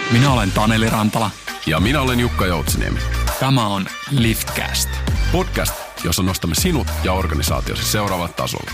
Minä olen Taneli Rantala. Ja minä olen Jukka Joutsiniemi. Tämä on Liftcast. Podcast, jossa nostamme sinut ja organisaatiosi seuraavalle tasolle.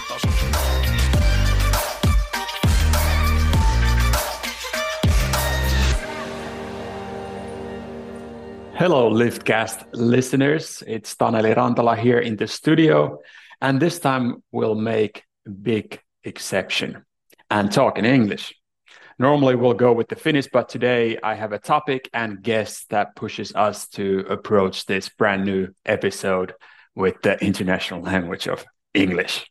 Hello, Liftcast listeners. It's Taneli Rantala here in the studio. And this time we'll make a big exception and talk in English. Normally we'll go with the Finnish, but today I have a topic and guest that pushes us to approach this brand new episode with the international language of English.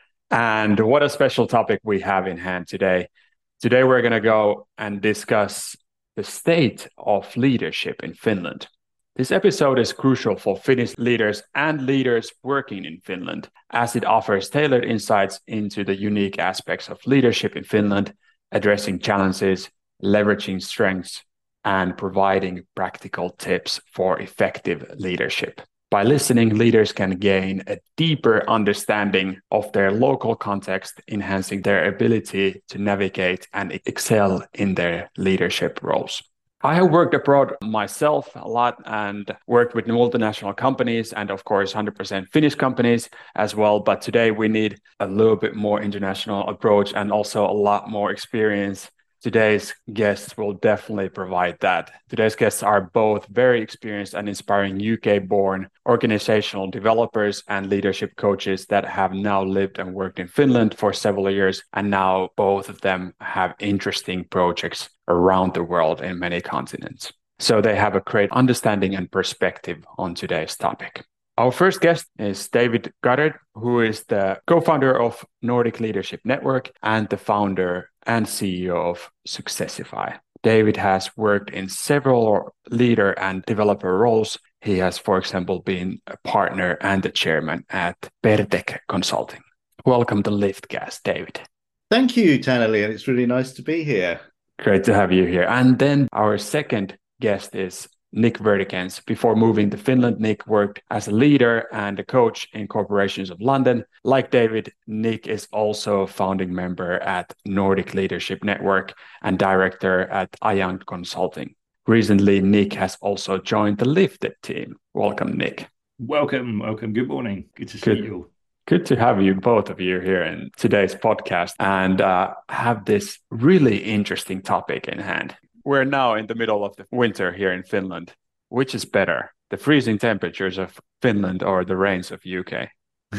And what a special topic we have in hand today. Today we're going to go and discuss the state of leadership in Finland. This episode is crucial for Finnish leaders and leaders working in Finland, as it offers tailored insights into the unique aspects of leadership in Finland, addressing challenges, leveraging strengths, and providing practical tips for effective leadership. By listening, leaders can gain a deeper understanding of their local context, enhancing their ability to navigate and excel in their leadership roles. I have worked abroad myself a lot and worked with multinational companies and, of course, 100% Finnish companies as well. But today we need a little bit more international approach and also a lot more experience. Today's guests will definitely provide that. Today's guests are both very experienced and inspiring UK-born organizational developers and leadership coaches that have now lived and worked in Finland for several years. And now both of them have interesting projects around the world in many continents. So they have a great understanding and perspective on today's topic. Our first guest is David Goddard, who is the co-founder of Nordic Leadership Network and the founder and CEO of Successify. David has worked in several leader and developer roles. He has, for example, been a partner and the chairman at Pertec Consulting. Welcome to Liftcast, David. Thank you, Taneli, and it's really nice to be here. Great to have you here. And then our second guest is Nick Verdicans. Before moving to Finland, Nick worked as a leader and a coach in corporations of London. Like David, Nick is also a founding member at Nordic Leadership Network and director at Ayang Consulting. Recently, Nick has also joined the Lifted team. Welcome, Nick. Welcome. Good morning. Good to see you. Good to have you, both of you, here in today's podcast and have this really interesting topic in hand. We're now in the middle of the winter here in Finland. Which is better, the freezing temperatures of Finland or the rains of UK?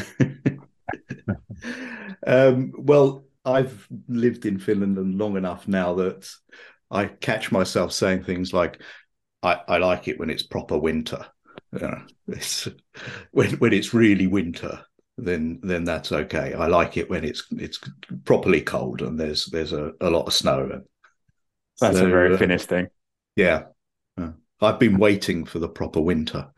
Well, I've lived in Finland long enough now that I catch myself saying things like, I like it when it's proper winter. It's when it's really winter, then that's okay. I like it when it's properly cold and there's a lot of snow. That's a very Finnish thing. Yeah. I've been waiting for the proper winter.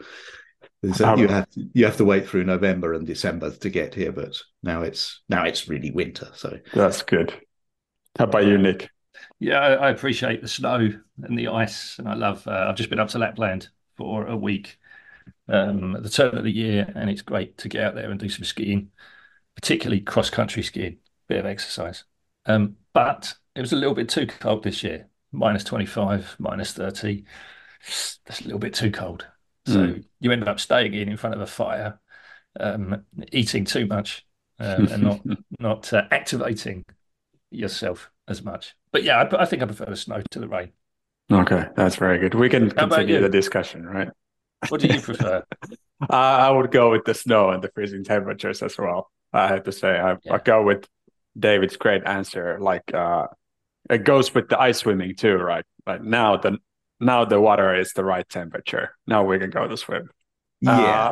You have to wait through November and December to get here, but now it's really winter. So that's good. How about you, Nick? Yeah, I appreciate the snow and the ice, and I love. I've just been up to Lapland for a week at the turn of the year, and it's great to get out there and do some skiing, particularly cross-country skiing, bit of exercise. But it was a little bit too cold this year. -25, -30. That's a little bit too cold. So you end up staying in front of a fire, eating too much, and not activating yourself as much. But yeah, I think I prefer the snow to the rain. Okay, that's very good. We can continue the discussion, right? What do you prefer? I would go with the snow and the freezing temperatures as well. I have to say, I go with David's great answer. Like it goes with the ice swimming too, right? But now the water is the right temperature. Now we can go to swim. Yeah,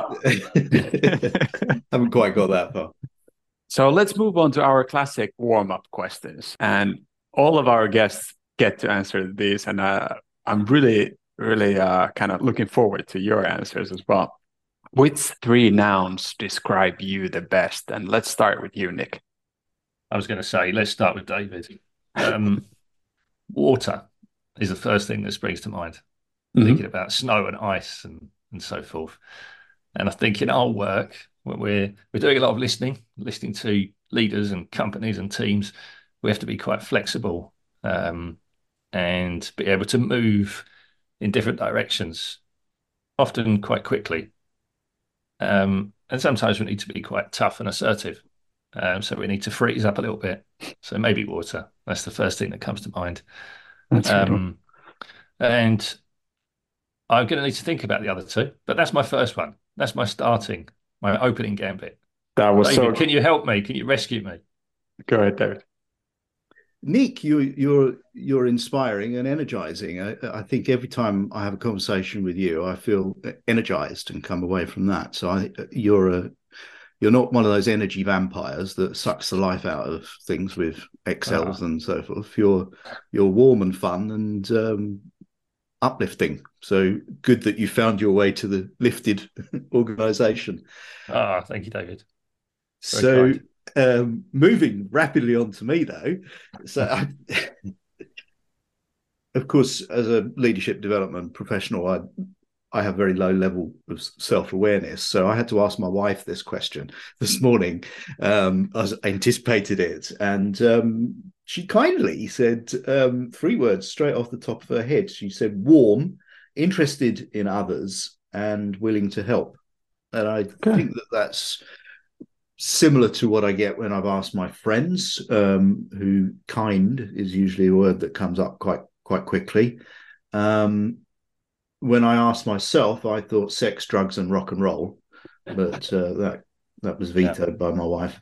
haven't quite got that far. So let's move on to our classic warm-up questions, and all of our guests get to answer these, and I'm really kind of looking forward to your answers as well. Which 3 nouns describe you the best? And let's start with you, Nick. I was going to say, let's start with David. Water is the first thing that springs to mind. Thinking about snow and ice and so forth. And I think in our work, when we're doing a lot of listening to leaders and companies and teams, we have to be quite flexible and be able to move in different directions, often quite quickly. And sometimes we need to be quite tough and assertive. So we need to freeze up a little bit. So maybe water. That's the first thing that comes to mind. That's good. And I'm going to need to think about the other two, but that's my first one. That's my opening gambit. That was David, so. can you help me? Can you rescue me? Go ahead, David. Nick, you're inspiring and energizing. I think every time I have a conversation with you, I feel energized and come away from that. So you're not one of those energy vampires that sucks the life out of things with Excels and so forth. You're warm and fun and uplifting. So good that you found your way to the lifted organization. Thank you, David. So moving rapidly on to me though. So of course, as a leadership development professional, I have very low level of self-awareness. So I had to ask my wife this question this morning. I anticipated it. And she kindly said 3 words straight off the top of her head. She said, warm, interested in others, and willing to help. And I think that's similar to what I get when I've asked my friends, who kind is usually a word that comes up quite quickly. When I asked myself, I thought sex, drugs, and rock and roll, but that was vetoed by my wife.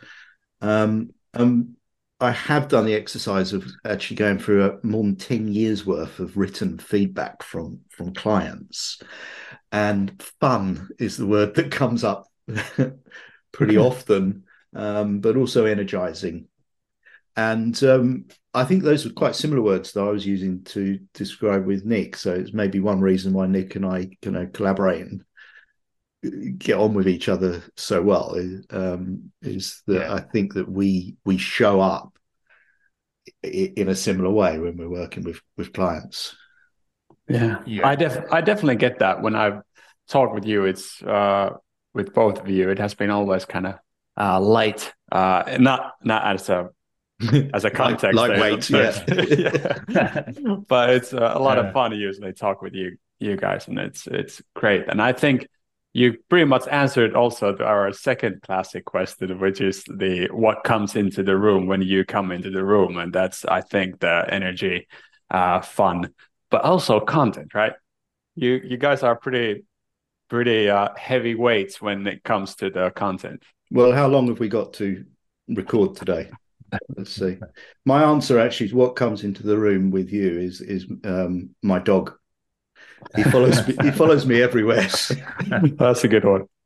I have done the exercise of actually going through more than 10 years worth of written feedback from clients, and fun is the word that comes up pretty often, but also energizing. And I think those were quite similar words that I was using to describe with Nick. So it's maybe one reason why Nick and I can collaborate and get on with each other so well is that I think that we show up in a similar way when we're working with clients. Yeah. I definitely get that when I've talked with you. It's with both of you, it has been always kind of light, not as a context, lightweight, but it's a lot of fun to usually talk with you guys, and it's great. And I think you pretty much answered also to our second classic question, which is what comes into the room when you come into the room, and that's, I think, the energy, fun, but also content, right? You guys are pretty heavy weights when it comes to the content. Well, how long have we got to record today? Let's see. My answer actually to what comes into the room with you is my dog. He follows me everywhere. That's a good one.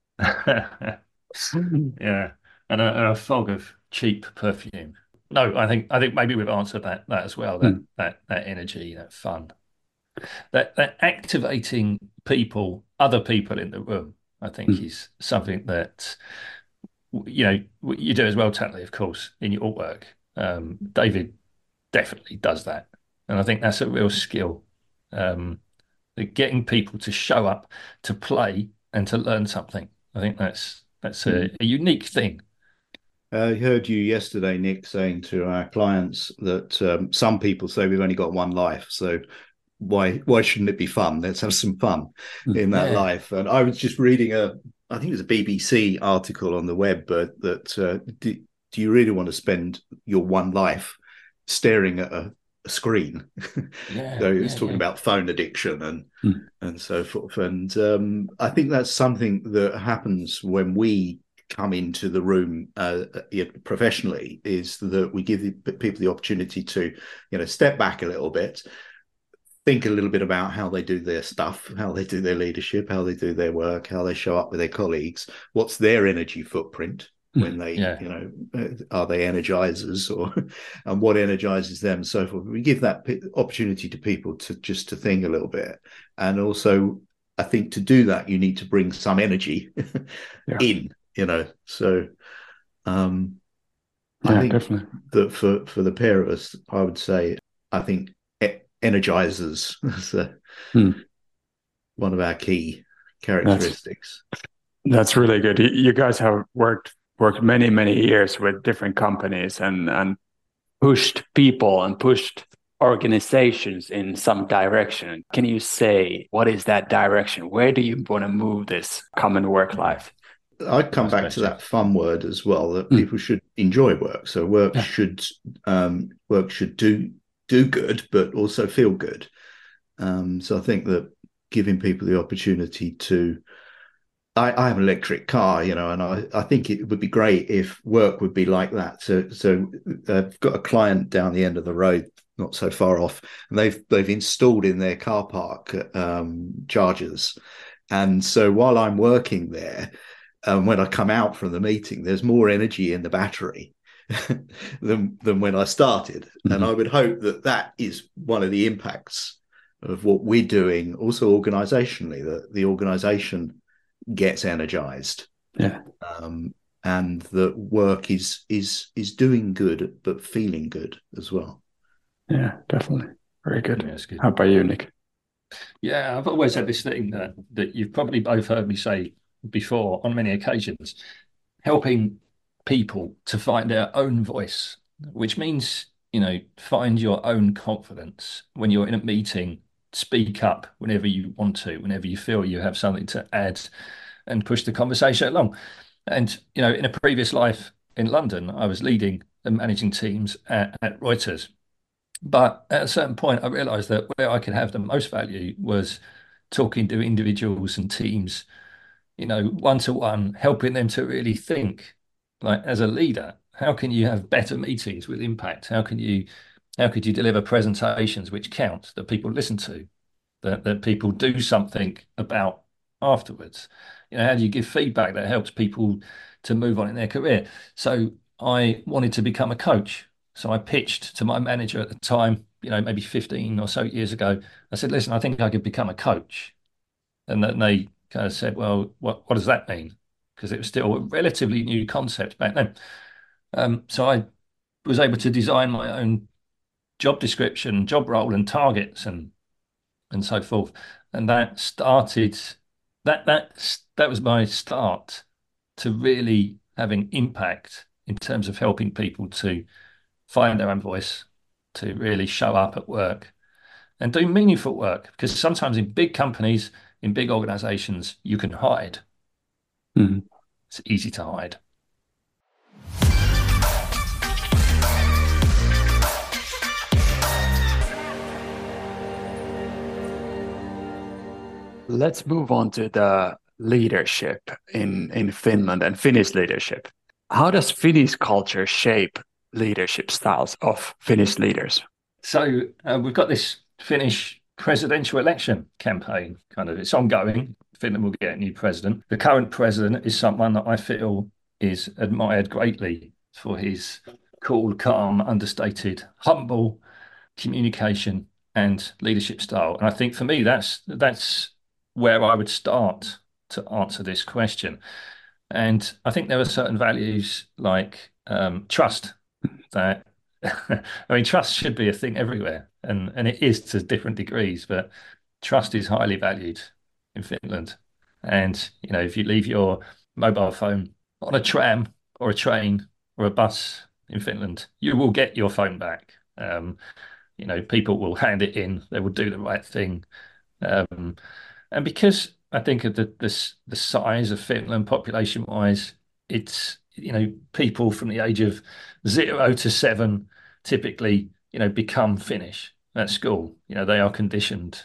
Yeah, and a fog of cheap perfume. No, I think maybe we've answered that as well. That energy, that fun, that activating other people in the room. I think is something that you do as well, Tatley, of course, in your work. David definitely does that, and I think that's a real skill. Getting people to show up, to play, and to learn something. I think that's a unique thing. I heard you yesterday, Nick, saying to our clients that some people say we've only got one life, so why shouldn't it be fun? Let's have some fun in that life. And I was just reading I think it was a BBC article on the web, but that do you really want to spend your one life staring at a screen? So it's talking about phone addiction and so forth. And I think that's something that happens when we come into the room professionally, is that we give people the opportunity to step back a little bit, think a little bit about how they do their stuff, how they do their leadership, how they do their work, how they show up with their colleagues, what's their energy footprint when they, are they energizers and what energizes them and so forth. We give that opportunity to people to think a little bit. And also, I think to do that, you need to bring some energy in, so I think definitely that for the pair of us, I would say, I think energizers is one of our key characteristics. That's really good. You guys have worked many years with different companies and pushed people and pushed organizations in some direction. Can you say what is that direction? Where do you want to move this common work life? I'd come back to that fun word as well, that people should enjoy work. So work should do good, but also feel good. So I think that giving people the opportunity to, I have an electric car, and I think it would be great if work would be like that. So I've got a client down the end of the road, not so far off, and they've installed in their car park chargers. And so while I'm working there, when I come out from the meeting, there's more energy in the battery than when I started. Mm-hmm. And I would hope that is one of the impacts of what we're doing, also organizationally, that the organization gets energized. Yeah. And that work is doing good, but feeling good as well. Yeah, definitely. Very good. Yeah, that's good. How about you, Nick? Yeah, I've always had this thing that you've probably both heard me say before on many occasions, helping people to find their own voice, which means, find your own confidence when you're in a meeting, speak up whenever you want to, whenever you feel you have something to add and push the conversation along. And, in a previous life in London, I was leading and managing teams at Reuters. But at a certain point, I realized that where I could have the most value was talking to individuals and teams, one-to-one, helping them to really think, like, as a leader, how can you have better meetings with impact? How could you deliver presentations which count, that people listen to, that people do something about afterwards? How do you give feedback that helps people to move on in their career? So I wanted to become a coach. So I pitched to my manager at the time, maybe 15 or so years ago. I said, listen, I think I could become a coach. And then they kind of said, well, what does that mean? Because it was still a relatively new concept back then. So I was able to design my own job description, job role and targets and so forth. And that started, that was my start to really having impact in terms of helping people to find their own voice, to really show up at work and do meaningful work. Because sometimes in big companies, in big organizations, you can hide. Mm-hmm. It's easy to hide. Let's move on to the leadership in Finland and Finnish leadership. How does Finnish culture shape leadership styles of Finnish leaders? So we've got this Finnish presidential election campaign, it's ongoing. Finland will get a new president. The current president is someone that I feel is admired greatly for his cool, calm, understated, humble communication and leadership style. And I think for me, that's where I would start to answer this question. And I think there are certain values like trust that, trust should be a thing everywhere. And it is to different degrees, but trust is highly valued in Finland. And, if you leave your mobile phone on a tram or a train or a bus in Finland, you will get your phone back. People will hand it in, they will do the right thing. And because I think of the size of Finland population-wise, it's, people from the age of 0 to 7 typically, become Finnish at school. They are conditioned,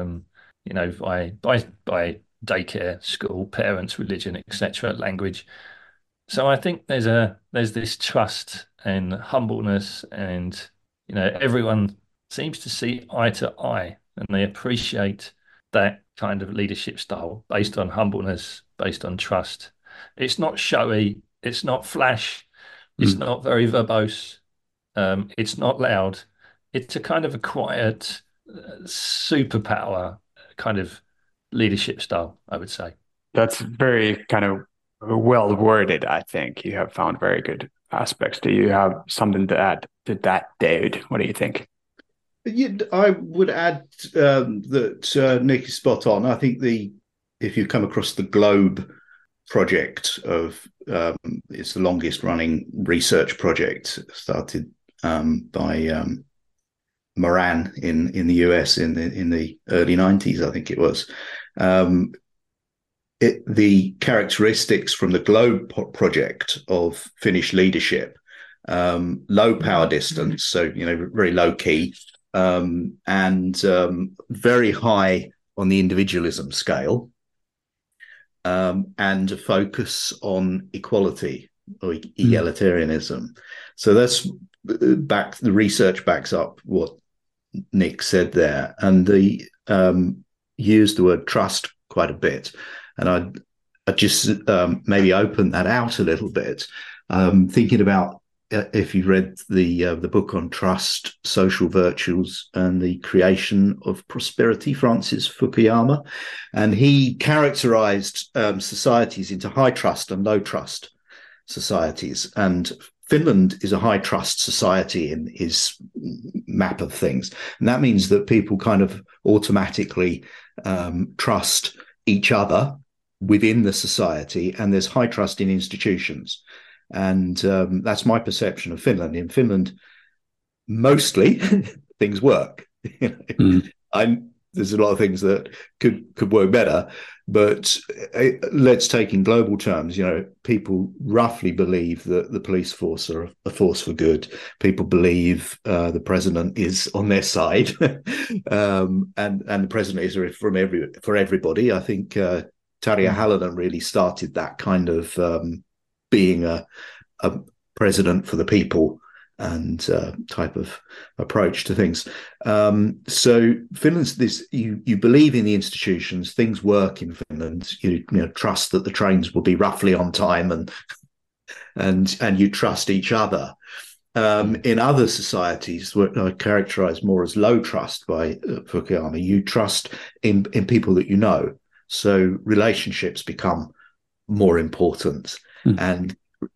by daycare, school, parents, religion, etc., language. So I think there's this trust and humbleness, and everyone seems to see eye to eye, and they appreciate that kind of leadership style based on humbleness, based on trust. It's not showy, it's not flash, it's not very verbose, it's not loud. It's a kind of a quiet superpower kind of leadership style, I would say. That's very kind of well worded, I think. You have found very good aspects. Do you have something to add to that, David? What do you think? Yeah, I would add that Nick is spot on. I think if you come across the Globe project it's the longest running research project started by Moran in the US in the early 90s, I think it was. The characteristics from the Globe project of Finnish leadership, low power distance, so very low key, and very high on the individualism scale, and a focus on equality or egalitarianism. So that's the research backs up what Nick said there, and they used the word trust quite a bit. And I just maybe open that out a little bit, thinking about if you read the book on trust, social virtues, and the creation of prosperity, Francis Fukuyama, and he characterized societies into high trust and low trust societies. And Finland is a high trust society in his map of things. And that means that people kind of automatically trust each other within the society, and there's high trust in institutions. And that's my perception of Finland. In Finland, mostly things work. There's a lot of things that could work better, but let's take in global terms. People roughly believe that the police force are a force for good. People believe the president is on their side, and the president is for everybody. I think Tarja Halonen really started that kind of being a president for the people and type of approach to things. So Finland's this, you believe in the institutions, things work in Finland, you trust that the trains will be roughly on time, and you trust each other. In other societies, what I characterize more as low trust by Fukuyama, you trust in people that you know. So relationships become more important. And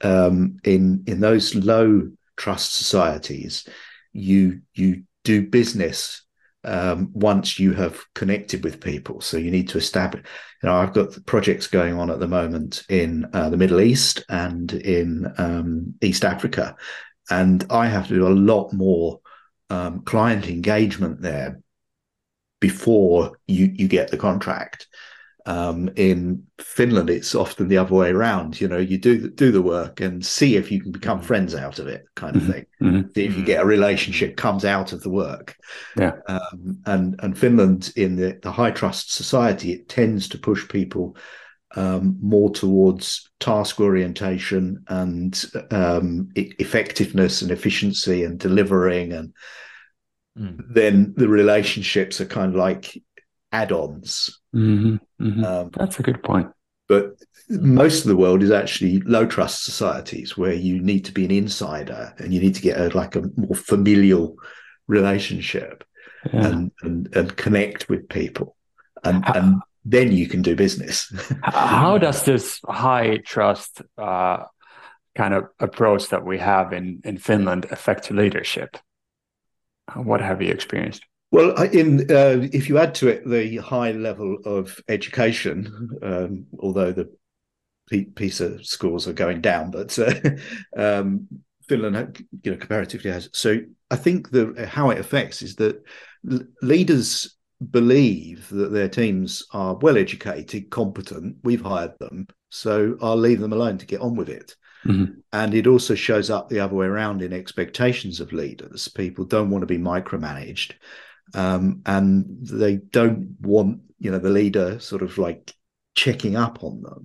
in those low trust societies, you do business once you have connected with people. So you need to establish. I've got projects going on at the moment in the Middle East and in East Africa, and I have to do a lot more client engagement there before you get the contract. In Finland, it's often the other way around. You do the work and see if you can become friends out of it, kind of thing. See if you get a relationship comes out of the work. And Finland, in the high trust society, it tends to push people more towards task orientation and effectiveness and efficiency and delivering, and then the relationships are kind of like add-ons. That's a good point. But most of the world is actually low trust societies where you need to be an insider and you need to get a more familial relationship and connect with people, and then you can do business. How does this high trust kind of approach that we have in Finland affect leadership? What have you experienced? Well, if you add to it the high level of education, although the PISA scores are going down, but Finland, comparatively has. So I think how it affects is that leaders believe that their teams are well educated, competent. We've hired them, so I'll leave them alone to get on with it. And it also shows up the other way around in expectations of leaders. People don't want to be micromanaged. And they don't want, the leader sort of like checking up on them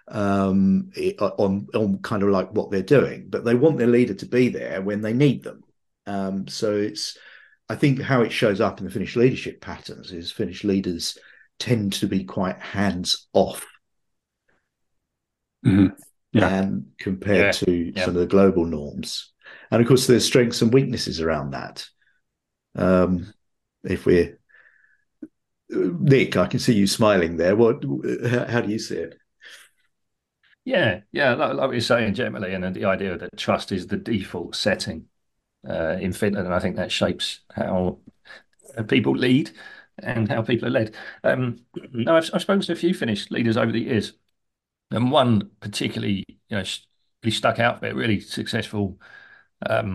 on kind of like what they're doing, but they want their leader to be there when they need them. So I think how it shows up in the Finnish leadership patterns is Finnish leaders tend to be quite hands off. And compared to some of the global norms. And of course, there's strengths and weaknesses around that. Nick, I can see you smiling there. How do you see it? Like what you're saying, generally, and the idea that trust is the default setting in Finland, and I think that shapes how people lead and how people are led. I've spoken to a few Finnish leaders over the years, and one particularly, really stuck out there, really successful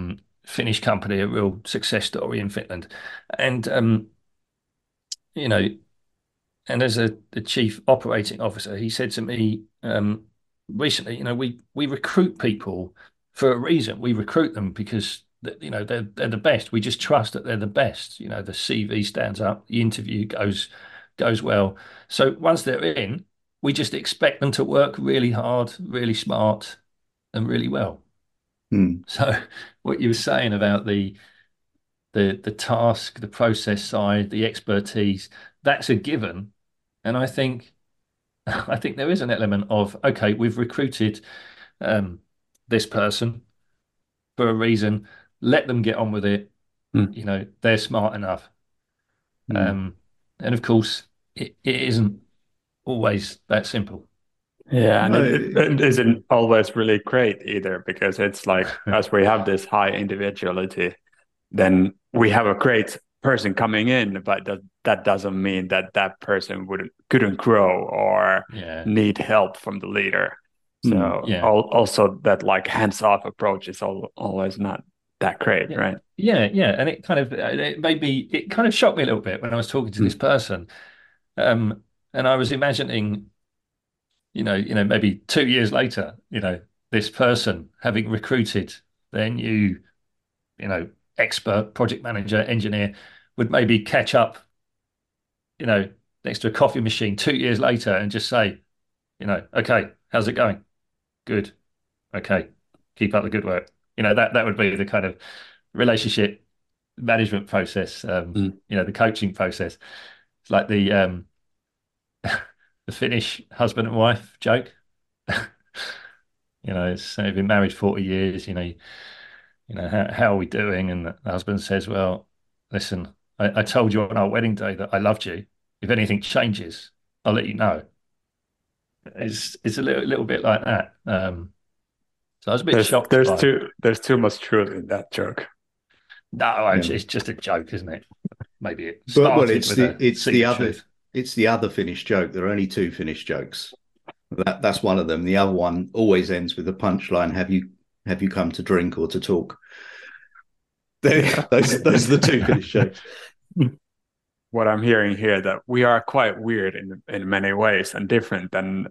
Finnish company, a real success story in Finland. And you know, and as the chief operating officer, he said to me recently, we recruit people for a reason. We recruit them because they're the best. We just trust that they're the best. The CV stands up, the interview goes well. So once they're in, we just expect them to work really hard, really smart, and really well. So what you were saying about the task, the process side, the expertise, that's a given. And I think there is an element of, okay, we've recruited this person for a reason. Let them get on with it. They're smart enough. And of course, it isn't always that simple. Yeah, and it isn't always really great either, because it's like, as we have this high individuality, then we have a great person coming in, but that doesn't mean that person couldn't grow or need help from the leader. So also that like hands-off approach is always not that great, right? Yeah, and it kind of shocked me a little bit when I was talking to this person, and I was imagining, maybe 2 years later, this person having recruited their new, expert project manager, engineer, would maybe catch up, next to a coffee machine 2 years later and just say, okay, how's it going? Good. Okay, keep up the good work. That would be the kind of relationship management process, the coaching process. It's like the Finnish husband and wife joke. They've been married 40 years, how are we doing? And the husband says, well, listen, I told you on our wedding day that I loved you. If anything changes, I'll let you know. It's a little bit like that. So I was a bit shocked. There's too much truth in that joke. No, it's just a joke, isn't it? Maybe it started it's the other Finnish joke. There are only two Finnish jokes. That's one of them. The other one always ends with the punchline: "Have you come to drink or to talk?" Those are the two Finnish jokes. What I'm hearing here, that we are quite weird in many ways and different than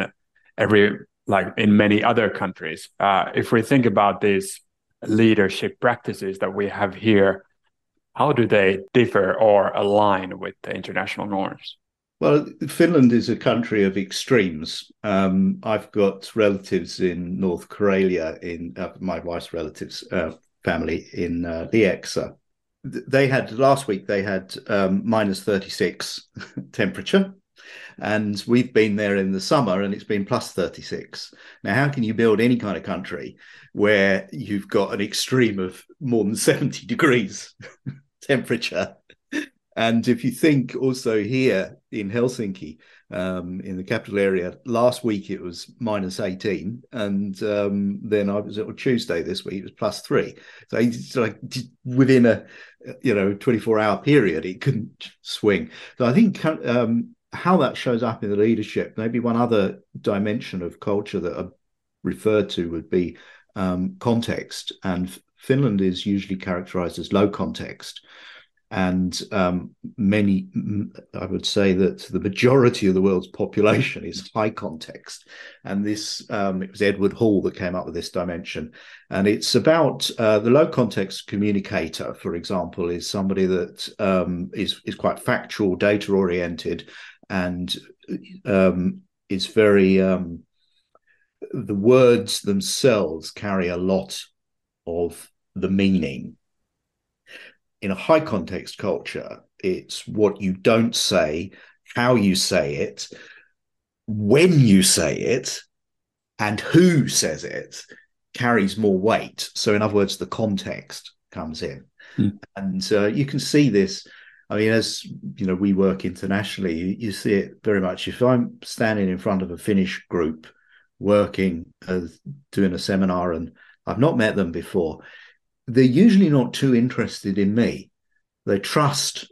in many other countries. If we think about these leadership practices that we have here, how do they differ or align with the international norms? Well, Finland is a country of extremes. I've got relatives in North Karelia, in my wife's relatives' family in Lieksa. Last week they had minus 36 temperature, and we've been there in the summer and it's been plus 36. Now, how can you build any kind of country where you've got an extreme of more than 70 degrees temperature? And if you think also here in Helsinki, in the capital area, last week it was minus 18, and then I was on Tuesday this week, it was plus 3. So it's like within a 24-hour period, it couldn't swing. So I think how that shows up in the leadership, maybe one other dimension of culture that I referred to would be context. And Finland is usually characterized as low context. And I would say that the majority of the world's population is high context. And this, it was Edward Hall that came up with this dimension. And it's about the low context communicator, for example, is somebody that is quite factual, data oriented, and is very, the words themselves carry a lot of the meaning. In a high context culture, it's what you don't say, how you say it, when you say it, and who says it carries more weight. So in other words, the context comes in. And you can see this. I mean, as you know, we work internationally, you see it very much. If I'm standing in front of a Finnish group working, doing a seminar, and I've not met them before, they're usually not too interested in me. They trust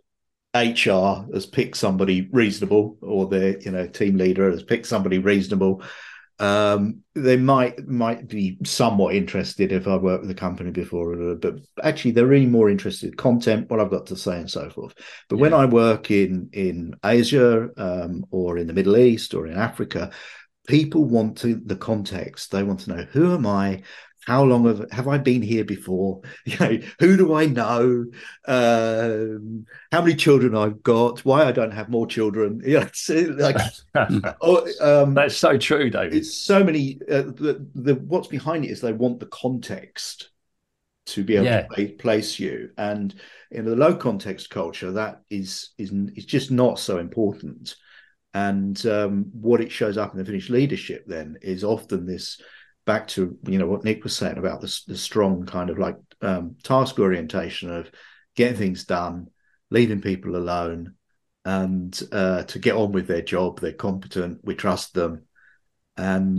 HR has picked somebody reasonable, or their team leader has picked somebody reasonable, They might be somewhat interested if I worked with a company before, but actually they're really more interested in content, what I've got to say, and so forth. But when I work in Asia, or in the Middle East or in Africa, people want the context. They want to know, who am I? How long have I been here before? Who do I know? How many children I've got? Why I don't have more children? It's like that's so true, David. It's so many. What's behind it is they want the context to be able to place you, and in the low context culture, that is just not so important. And what it shows up in the Finnish leadership then is often this, back to what Nick was saying about the strong kind of like task orientation of getting things done, leaving people alone, and to get on with their job. They're competent, we trust them, and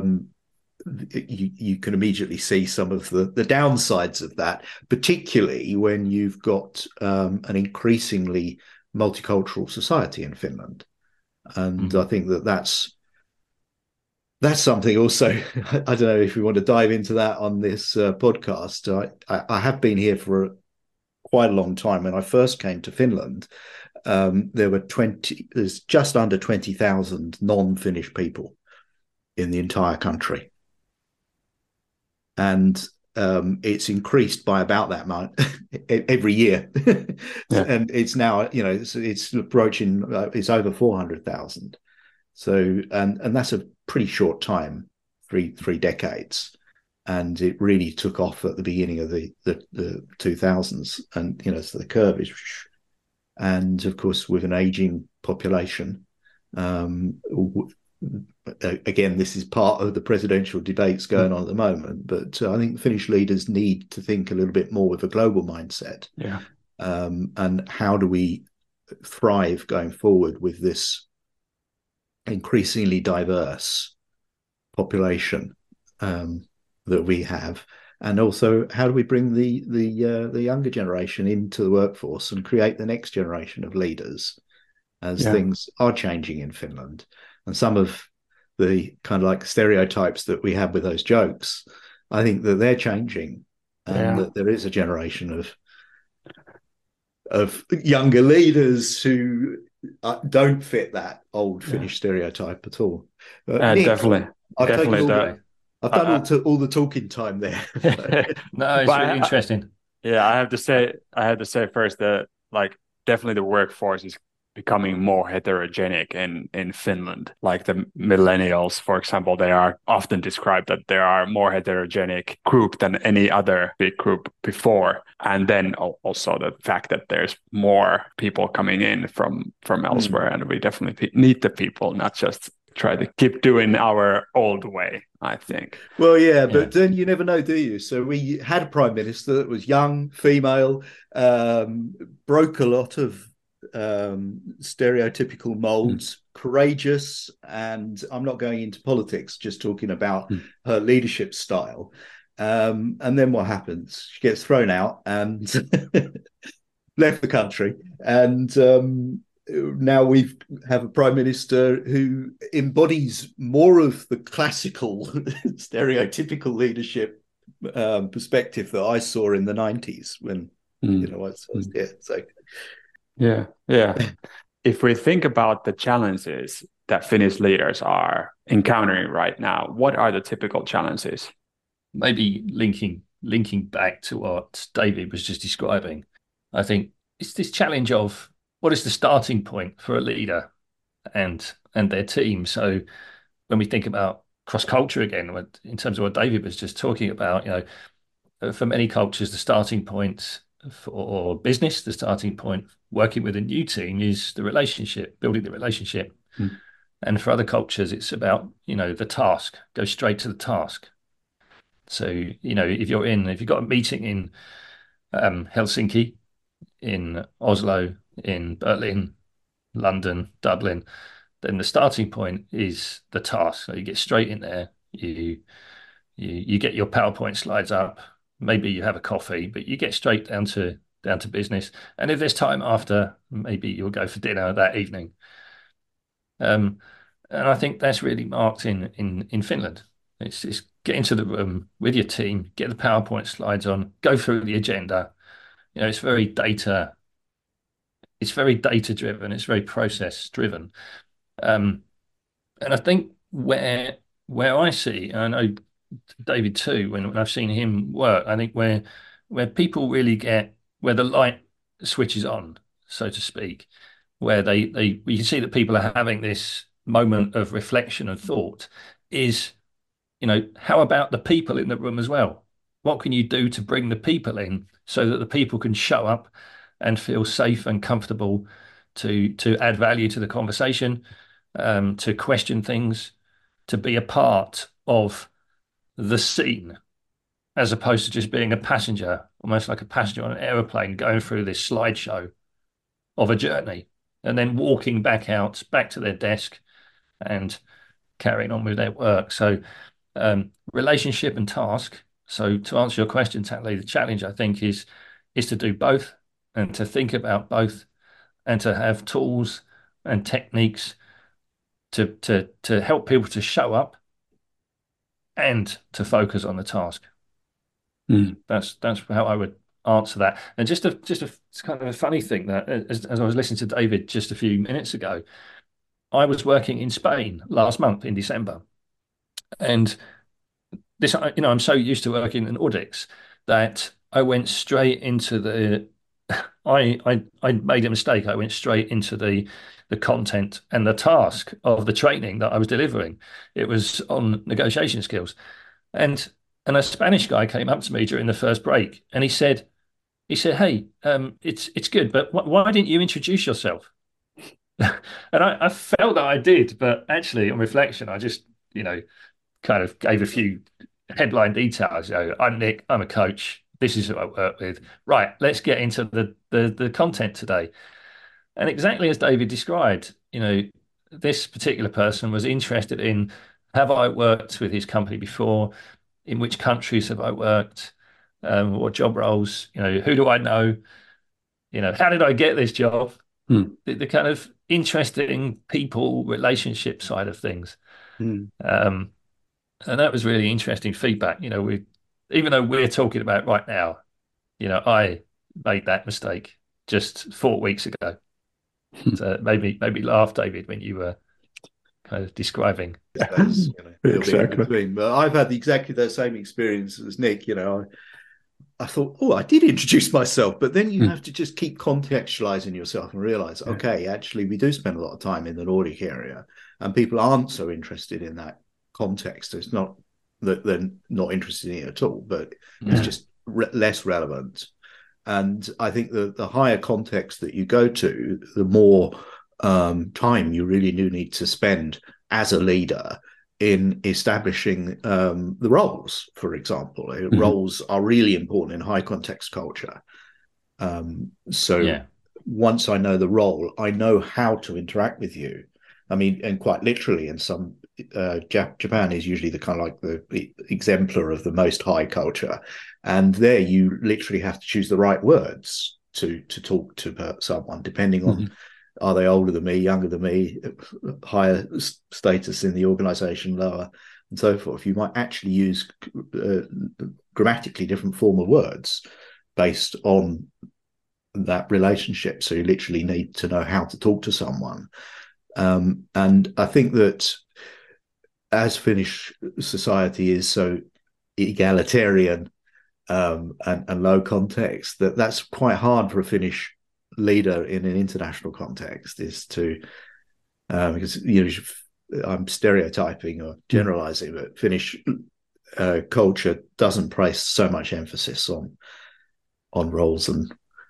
you can immediately see some of the downsides of that, particularly when you've got an increasingly multicultural society in Finland. And I think that's something also. I don't know if we want to dive into that on this podcast. I have been here for quite a long time. When I first came to Finland, there's just under 20,000 non-Finnish people in the entire country, and it's increased by about that amount every year. And it's now it's approaching, it's over 400,000. So and that's a pretty short time, three decades, and it really took off at the beginning of the 2000s, and so the curve is, and of course with an aging population, again, this is part of the presidential debates going on at the moment, but I think the Finnish leaders need to think a little bit more with a global mindset. And how do we thrive going forward with this increasingly diverse population that we have, and also how do we bring the younger generation into the workforce and create the next generation of leaders, as things are changing in Finland. And some of the kind of like stereotypes that we have with those jokes, I think that they're changing, and that there is a generation of younger leaders who don't fit that old Finnish stereotype at all. Nick, definitely. I've done all the talking time there. No, it's really interesting. Yeah, I have to say first that definitely the workforce is becoming more heterogenic in Finland. Like the millennials, for example, they are often described that they are more heterogenic group than any other big group before. And then also the fact that there's more people coming in from elsewhere, and we definitely need the people, not just try to keep doing our old way, I think. Well, but then you never know, do you? So we had a prime minister that was young, female, broke a lot of stereotypical molds, courageous, and I'm not going into politics, just talking about her leadership style. And then what happens? She gets thrown out and left the country, and now we have a prime minister who embodies more of the classical stereotypical leadership perspective that I saw in the 90s when I was there. So if we think about the challenges that Finnish leaders are encountering right now, what are the typical challenges? Maybe linking back to what David was just describing, I think it's this challenge of what is the starting point for a leader and their team. So when we think about cross-culture again, in terms of what David was just talking about, for many cultures, the starting point for business, the starting point working with a new team is the relationship, building the relationship. And for other cultures, it's about, the task, go straight to the task. So, if you've got a meeting in Helsinki, in Oslo, in Berlin, London, Dublin, then the starting point is the task. So you get straight in there, you get your PowerPoint slides up, maybe you have a coffee, but you get straight down to business. And if there's time after, maybe you'll go for dinner that evening. And And I think that's really marked in Finland. It's get into the room with your team, get the PowerPoint slides on, go through the agenda. It's very data. It's very data driven. It's very process driven. And I think where I see, and I know David too, when I've seen him work, I think where people really get where the light switches on, so to speak, where we can see that people are having this moment of reflection and thought is, how about the people in the room as well? What can you do to bring the people in so that the people can show up and feel safe and comfortable to add value to the conversation, to question things, to be a part of the scene, as opposed to just being a passenger, almost like a passenger on an aeroplane going through this slideshow of a journey and then walking back to their desk and carrying on with their work. So relationship and task. So to answer your question, Tatley, the challenge I think is to do both and to think about both and to have tools and techniques to help people to show up and to focus on the task. That's how I would answer that. And just a kind of a funny thing that as I was listening to David just a few minutes ago, I was working in Spain last month in December, and this, I'm so used to working in audits that I went straight into the. I made a mistake. I went straight into the content and the task of the training that I was delivering. It was on negotiation skills, and a Spanish guy came up to me during the first break, and he said, "Hey, it's good, but why didn't you introduce yourself?" And I felt that I did, but actually, on reflection, I just kind of gave a few headline details. I'm Nick. I'm a coach. This is who I work with. Right, let's get into the content today. And exactly as David described, this particular person was interested in, have I worked with his company before? In which countries have I worked? What job roles? Who do I know? How did I get this job? The kind of interesting people relationship side of things. And that was really interesting feedback. Even though we're talking about it right now, I made that mistake just 4 weeks ago. So maybe laugh, David, when you were kind of describing. Exactly. But I've had exactly the same experience as Nick. I thought, I did introduce myself, but then you have to just keep contextualizing yourself and realize, okay, actually, we do spend a lot of time in the Nordic area, and people aren't so interested in that context. It's not that they're not interested in it at all, but it's just less relevant. And I think the higher context that you go to, the more time you really do need to spend as a leader in establishing the roles, for example. Roles are really important in high context culture. Once I know the role, I know how to interact with you. I mean, and quite literally in some Japan is usually the kind of like the exemplar of the most high culture, and there you literally have to choose the right words to talk to someone, depending on are they older than me, younger than me, higher status in the organization, lower, and so forth. You might actually use grammatically different form of words based on that relationship. So you literally need to know how to talk to someone. And I think that as Finnish society is so egalitarian and low context, that's quite hard for a Finnish leader in an international context, is to because I'm stereotyping or generalizing, but Finnish culture doesn't place so much emphasis on roles. And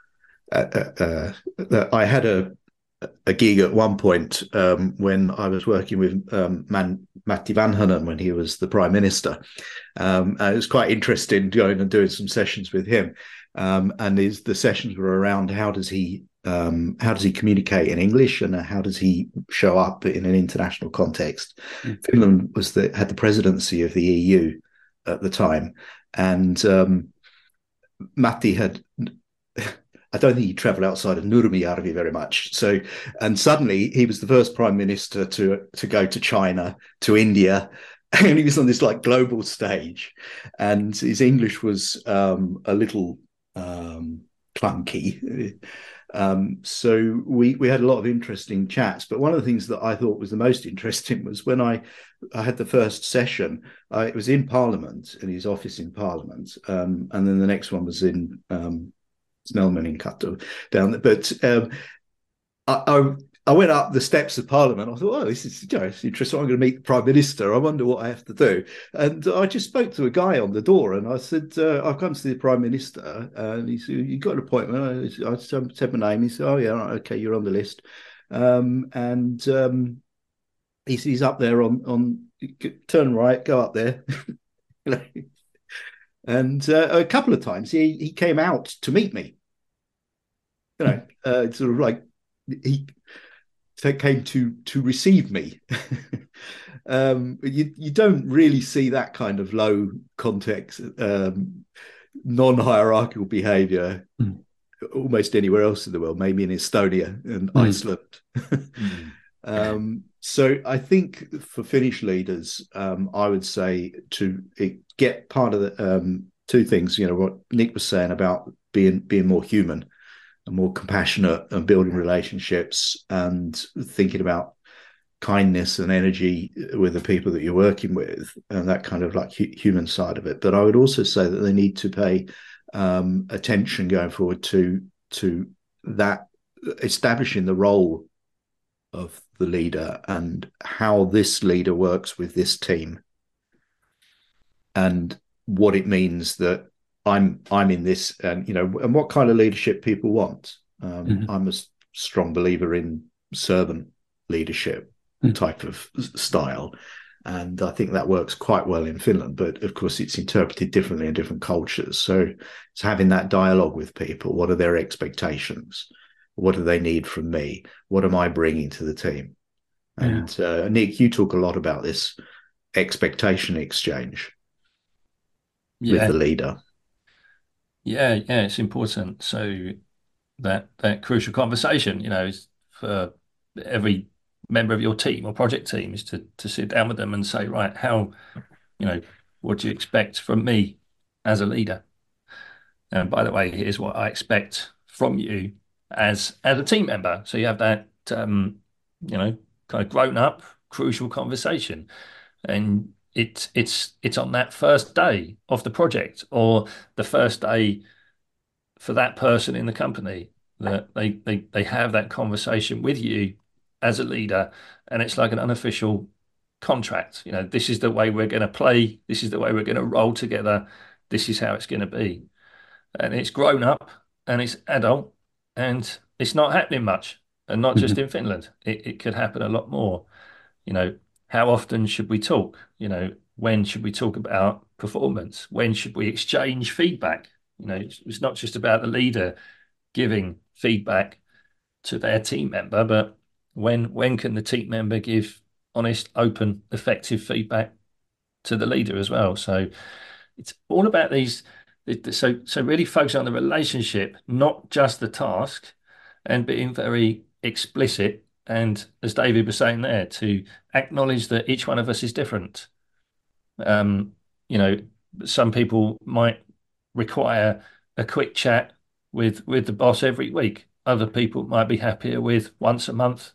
I had a gig at one point when I was working with Matti Vanhanen when he was the Prime Minister. It was quite interesting going and doing some sessions with him. And the sessions were around how does he communicate in English and how does he show up in an international context. Finland had the presidency of the EU at the time, and Matti had I don't think he travelled outside of Nurmijärvi very much. So, and suddenly he was the first prime minister to go to China, to India, and he was on this like global stage, and his English was a little clunky. So we had a lot of interesting chats. But one of the things that I thought was the most interesting was when I had the first session. It was in Parliament, in his office in Parliament, and then the next one was in Snellman in Kato down there. But I went up the steps of Parliament. I thought, oh, this is it's interesting. I'm going to meet the Prime Minister. I wonder what I have to do. And I just spoke to a guy on the door, and I said, I've come to see the Prime Minister. And he said, you got an appointment? I said my name. He said, oh, yeah, okay, you're on the list. He's up there on turn right, go up there. And a couple of times he came out to meet me. Sort of like he came to receive me. You don't really see that kind of low context, non-hierarchical behavior almost anywhere else in the world, maybe in Estonia and Iceland. So I think for Finnish leaders, I would say to get part of the two things, what Nick was saying about being more human and more compassionate and building relationships and thinking about kindness and energy with the people that you're working with and that kind of like human side of it. But I would also say that they need to pay attention going forward to that, establishing the role of the leader and how this leader works with this team and what it means that I'm in this, and and what kind of leadership people want. I'm a strong believer in servant leadership type of style, and I think that works quite well in Finland. But of course, it's interpreted differently in different cultures. So it's having that dialogue with people. What are their expectations? What do they need from me? What am I bringing to the team? And Nick, you talk a lot about this expectation exchange with the leader. Yeah, it's important. So that crucial conversation, is for every member of your team or project team is to sit down with them and say, right, how, what do you expect from me as a leader? And by the way, here's what I expect from you as a team member. So you have that, kind of grown up, crucial conversation, and it's on that first day of the project or the first day for that person in the company that they have that conversation with you as a leader, and it's like an unofficial contract. This is the way we're going to play. This is the way we're going to roll together. This is how it's going to be, and it's grown up and it's adult, and it's not happening much, and not just in Finland. It could happen a lot more. How often should we talk? When should we talk about performance? When should we exchange feedback? It's not just about the leader giving feedback to their team member, but when can the team member give honest, open, effective feedback to the leader as well? So it's all about these. So really focus on the relationship, not just the task, and being very explicit. And as David was saying there, to acknowledge that each one of us is different. Some people might require a quick chat with the boss every week. Other people might be happier with once a month.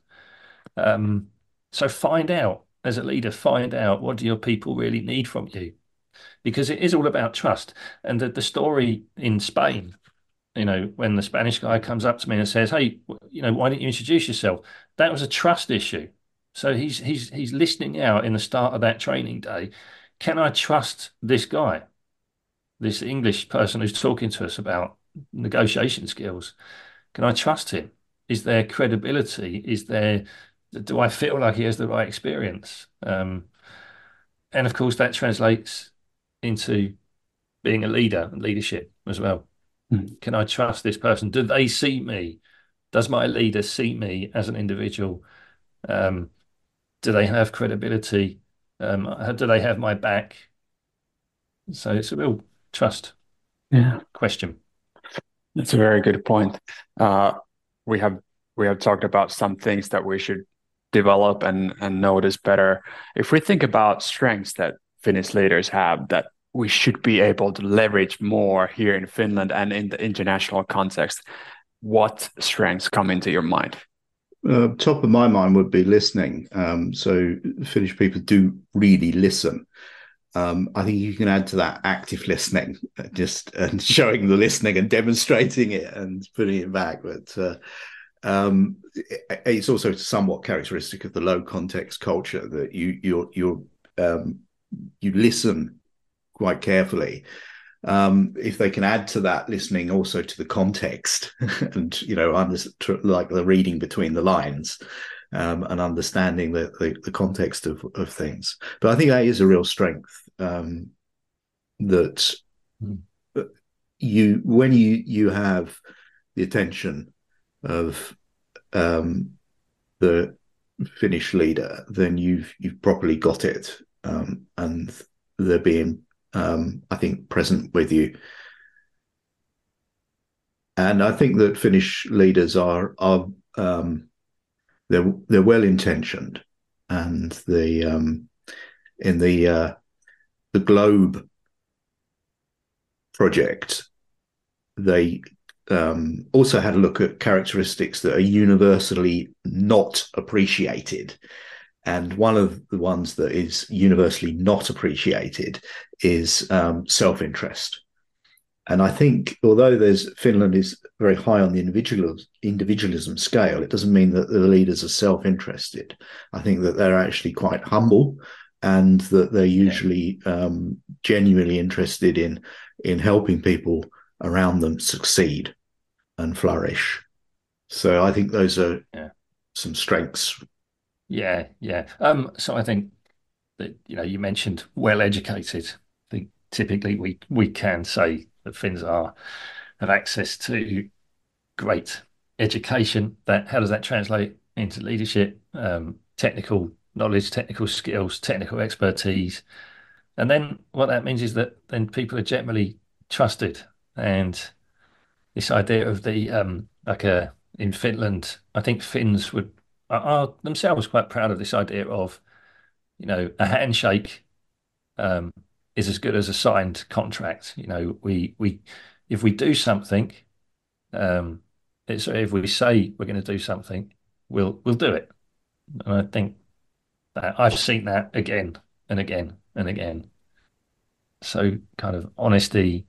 So find out, as a leader, what do your people really need from you? Because it is all about trust. And the story in Spain, when the Spanish guy comes up to me and says, hey, why didn't you introduce yourself? That was a trust issue. So he's listening out in the start of that training day. Can I trust this guy, this English person who's talking to us about negotiation skills? Can I trust him? Is there credibility? Do I feel like he has the right experience? And of course, that translates into being a leader and leadership as well. Can I trust this person? Do they see me? Does my leader see me as an individual? Do they have credibility? Do they have my back? So it's a real trust question. That's a very good point. Uh, we have we have talked about some things that we should develop and notice better. If we think about strengths that Finnish leaders have that we should be able to leverage more here in Finland and in the international context, what strengths come into your mind? Top of my mind would be listening. So Finnish people do really listen. I think you can add to that active listening, just and showing the listening and demonstrating it and putting it back. But it's also somewhat characteristic of the low context culture that you listen quite carefully. If they can add to that listening also to the context and like the reading between the lines, and understanding the context of things. But I think that is a real strength, that when you have the attention of the Finnish leader, then you've properly got it, and they're being, I think, present with you. And I think that Finnish leaders are they're well intentioned, and in the Globe project, they also had a look at characteristics that are universally not appreciated. And one of the ones that is universally not appreciated is self-interest. And I think, although Finland is very high on the individualism scale, it doesn't mean that the leaders are self-interested. I think that they're actually quite humble, and that they're usually genuinely interested in helping people around them succeed and flourish. So I think those are some strengths. Yeah. So I think that, you mentioned well educated. I think typically we can say that Finns have access to great education. How does that translate into leadership, technical knowledge, technical skills, technical expertise? And then what that means is that then people are generally trusted. And this idea of in Finland, I think Finns are themselves quite proud of this idea of, a handshake is as good as a signed contract. If we do something, if we say we're going to do something, we'll do it. And I think that I've seen that again and again and again. So kind of honesty,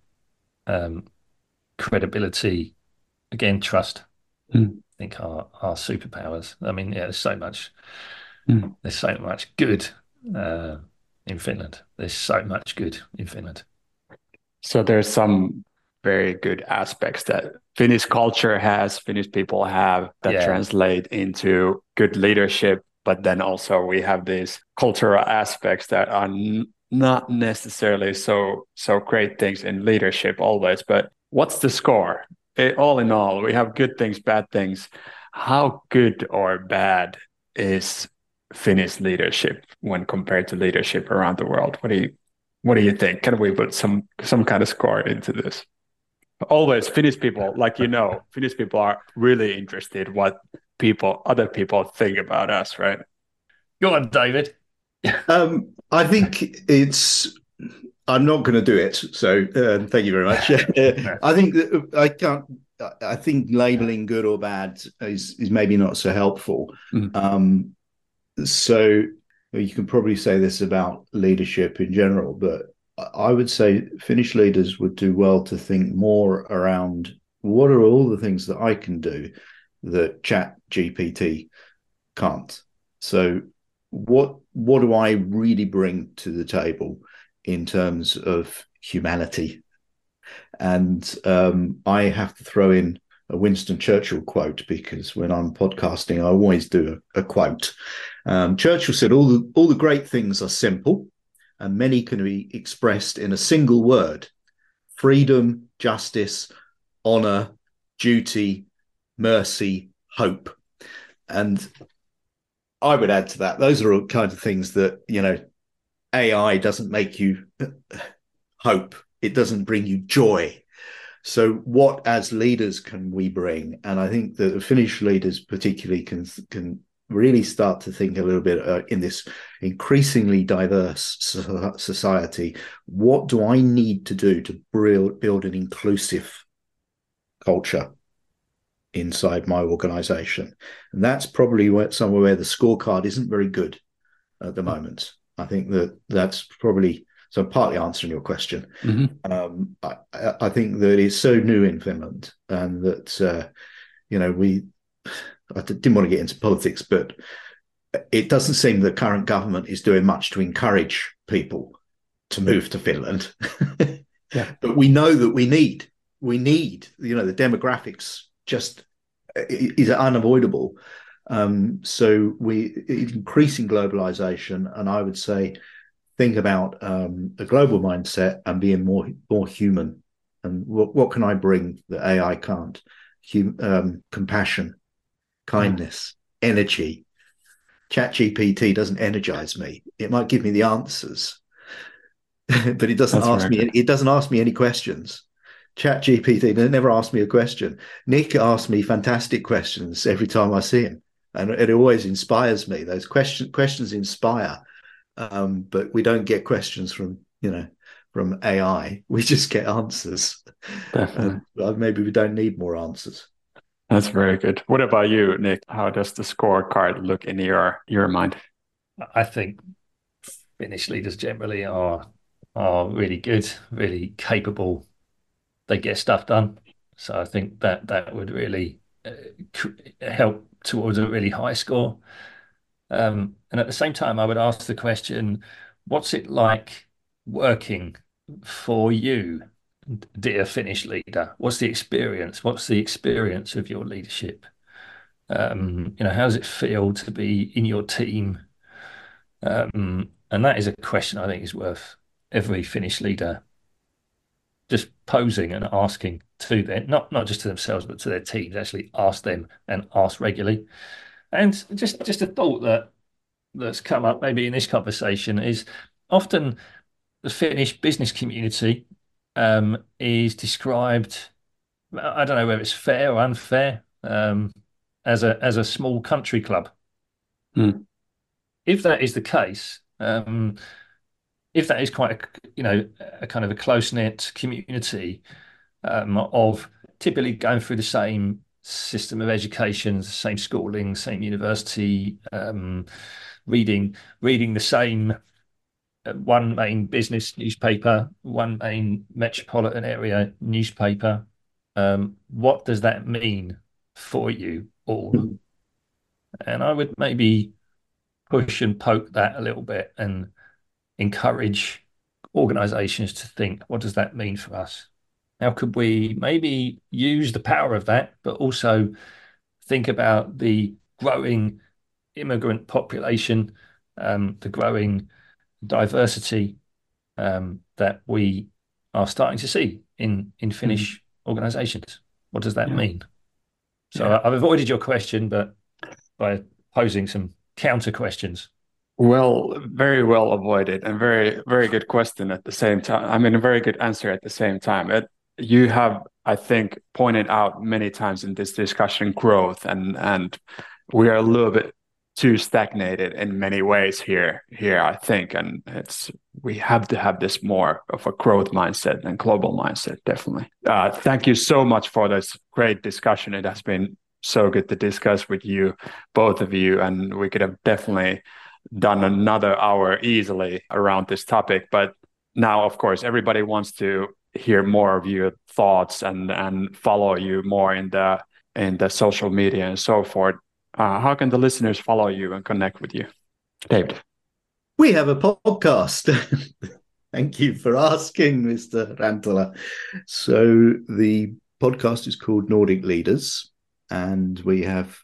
credibility, again, trust. I think are superpowers. I mean, there's so much good in Finland. There's so much good in Finland. So there's some very good aspects that Finnish culture has, Finnish people have, that translate into good leadership. But then also we have these cultural aspects that are not necessarily so great things in leadership always. But what's the score? All in all, we have good things, bad things. How good or bad is Finnish leadership when compared to leadership around the world? What do you think? Can we put some kind of score into this? Always Finnish people, Finnish people are really interested what other people think about us, right? Go on, David. I think I'm not going to do it. So thank you very much. I think that I can't. I think labeling good or bad is maybe not so helpful. So you can probably say this about leadership in general, but I would say Finnish leaders would do well to think more around what are all the things that I can do that ChatGPT can't. So what do I really bring to the table in terms of humanity? And I have to throw in a Winston Churchill quote, because when I'm podcasting, I always do a quote. Churchill said, all the great things are simple, and many can be expressed in a single word: freedom, justice, honor, duty, mercy, hope. And I would add to that, those are all kinds of things that, AI doesn't make you hope. It doesn't bring you joy. So what as leaders can we bring? And I think that the Finnish leaders particularly can really start to think a little bit in this increasingly diverse society. What do I need to do to build an inclusive culture inside my organization? And that's probably somewhere where the scorecard isn't very good at the moment. I think that's probably, so I'm partly answering your question. I think that it's so new in Finland, and that I didn't want to get into politics, but it doesn't seem the current government is doing much to encourage people to move to Finland. Yeah. But we know that we need, the demographics just is unavoidable. So increasing globalization, and I would say think about a global mindset and being more human. And what can I bring that AI can't? Compassion, kindness, energy. ChatGPT doesn't energize me. It might give me the answers, but it doesn't ask me. It doesn't ask me any questions. ChatGPT never asked me a question. Nick asks me fantastic questions every time I see him, and it always inspires me. Those questions inspire, but we don't get questions from AI. We just get answers. Definitely. Maybe we don't need more answers. That's very good. What about you, Nick? How does the scorecard look in your mind? I think Finnish leaders generally are really good, really capable. They get stuff done. So I think that would really help towards a really high score. And at the same time, I would ask the question, what's it like working for you, dear Finnish leader? What's the experience? What's the experience of your leadership? How does it feel to be in your team? And that is a question I think is worth every Finnish leader just posing and asking to them, not just to themselves, but to their teams. Actually ask them and ask regularly. And just a thought that's come up maybe in this conversation is often the Finnish business community is described, I don't know whether it's fair or unfair, as a small country club. If that is the case, if that is quite a kind of a close-knit community of typically going through the same system of education, same schooling, same university, reading the same one main business newspaper, one main metropolitan area newspaper. What does that mean for you all? And I would maybe push and poke that a little bit and encourage organizations to think, what does that mean for us? How could we maybe use the power of that, but also think about the growing immigrant population, the growing diversity that we are starting to see in Finnish organizations? What does that mean? So I've avoided your question, but by posing some counter questions. Well, very well avoided, and very, very good question at the same time. I mean, a very good answer at the same time. You have, I think, pointed out many times in this discussion growth, and we are a little bit too stagnated in many ways here, I think, and we have to have this more of a growth mindset and global mindset, definitely. Thank you so much for this great discussion. It has been so good to discuss with you, both of you, and we could have definitely done another hour easily around this topic. But now, of course, everybody wants to hear more of your thoughts and follow you more in the social media and so forth. How can the listeners follow you and connect with you, David? We have a podcast. Thank you for asking, Mr. Rantala. So the podcast is called Nordic Leaders, and we have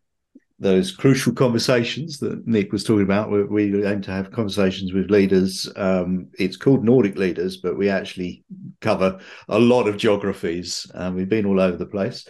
those crucial conversations that Nick was talking about. We aim to have conversations with leaders. It's called Nordic Leaders, but we actually cover a lot of geographies. We've been all over the place.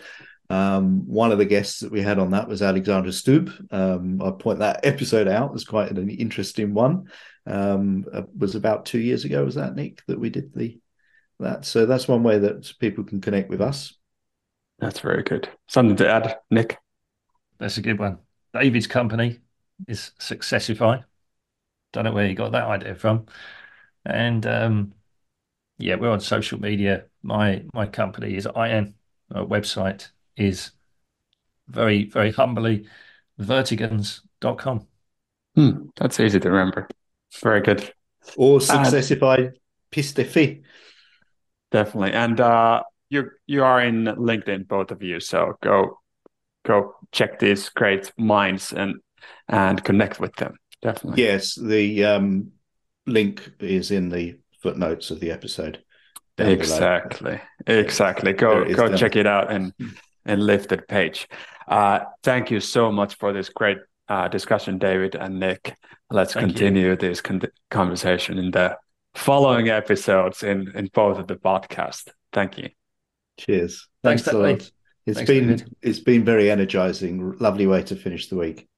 One of the guests that we had on that was Alexandra Stubb. I point that episode out. It was quite an interesting one. It was about 2 years ago, was that, Nick, that we did That's one way that people can connect with us. That's very good. Something to add, Nick? That's a good one. David's company is Successify. Don't know where he got that idea from. And yeah, we're on social media. My company is IN. Our website is very, very humbly vertigans.com. That's easy to remember. Very good. Or Successify Pistefi. Definitely. And you are in LinkedIn, both of you. So go check these great minds and connect with them. Definitely. Yes, the link is in the footnotes of the episode. Exactly. Go check it out and Lifted page. Thank you so much for this great discussion, David and Nick. Let's continue this conversation in the following episodes in both of the podcast. Thank you. Cheers. Thanks a lot. It's been very energizing. Lovely way to finish the week.